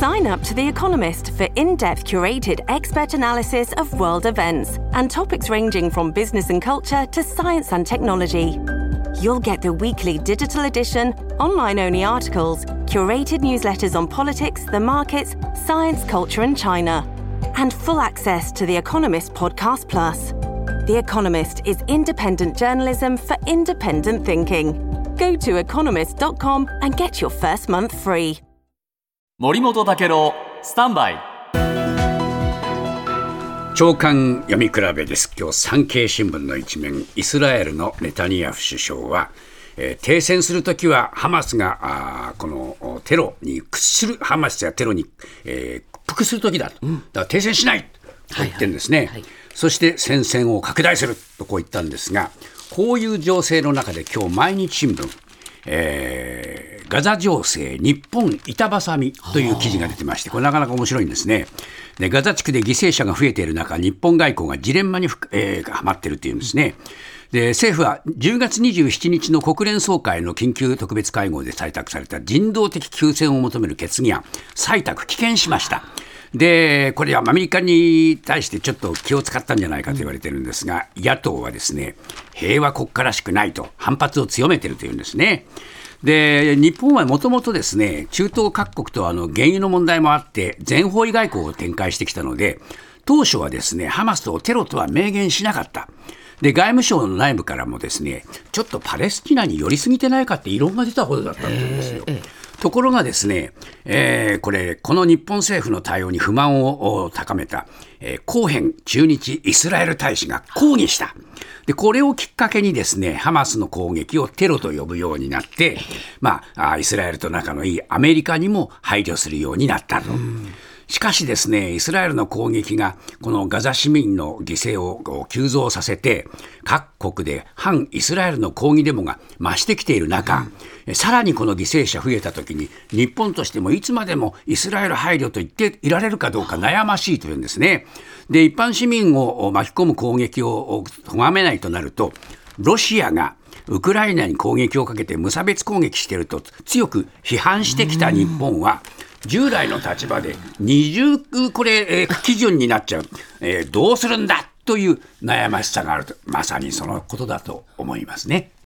Sign up to The Economist for in-depth curated expert analysis of world events and topics ranging from business and culture to science and technology. You'll get the weekly digital edition, online-only articles, curated newsletters on politics, the markets, science, culture and China, and full access to The Economist Podcast Plus. The Economist is independent journalism for independent thinking. Go to economist.com and get your first month free. 森本武郎スタンバイ朝刊読み比べです。今日産経新聞の一面、イスラエルのネタニヤフ首相は、停戦するときはハマスがこのテロに屈する、ハマスやテロに、屈服するときだと、だから停戦しないと言ってるんですね、そして戦線を拡大するとこう言ったんですが、こういう情勢の中で今日毎日新聞、ガザ情勢日本板挟みという記事が出てまして、これなかなか面白いんですね。でガザ地区で犠牲者が増えている中、日本外交がジレンマにはまっているというんですね。で政府は10月27日の国連総会の緊急特別会合で採択された人道的休戦を求める決議案採択棄権しました。でこれはアメリカに対してちょっと気を使ったんじゃないかと言われているんですが、野党はですね、平和国家らしくないと反発を強めているというんですね。で日本はもともとですね、中東各国と原油の問題もあって全方位外交を展開してきたので、当初はですね、ハマスをテロとは明言しなかった。で外務省の内部からもですね、ちょっとパレスチナに寄りすぎてないかって異論が出たほどだったというんですよ。ところがですね、この日本政府の対応に不満を高めた、コーヘン駐日イスラエル大使が抗議した。でこれをきっかけにですね、ハマスの攻撃をテロと呼ぶようになって、イスラエルと仲のいいアメリカにも配慮するようになったと。しかしですね、イスラエルの攻撃がこのガザ市民の犠牲を急増させて、各国で反イスラエルの抗議デモが増してきている中、さらにこの犠牲者増えたときに、日本としてもいつまでもイスラエル配慮と言っていられるかどうか悩ましいというんですね。で一般市民を巻き込む攻撃を咎めないとなると、ロシアがウクライナに攻撃をかけて無差別攻撃していると強く批判してきた日本は、従来の立場で二重基準になっちゃう、どうするんだという悩ましさがあると、まさにそのことだと思いますね。